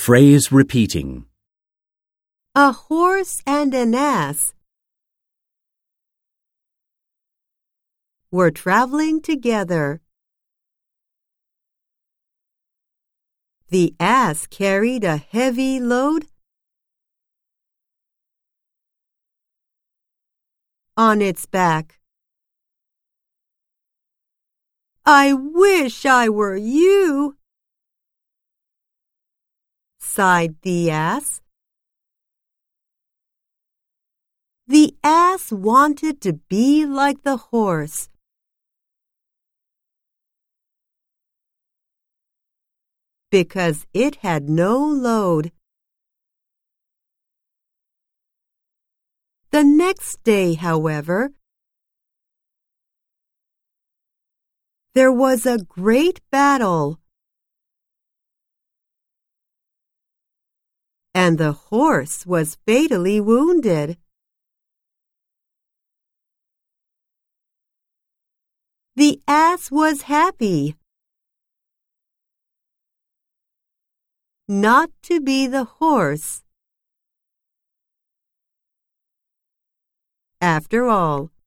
Phrase repeating. A horse and an ass were traveling together. The ass carried a heavy load on its back. "I wish I were you," sighed the ass. The ass wanted to be like the horse. Because it had no load. The next day, however, there was a great battle, and the horse was fatally wounded. The ass was happy not to be the horse after all.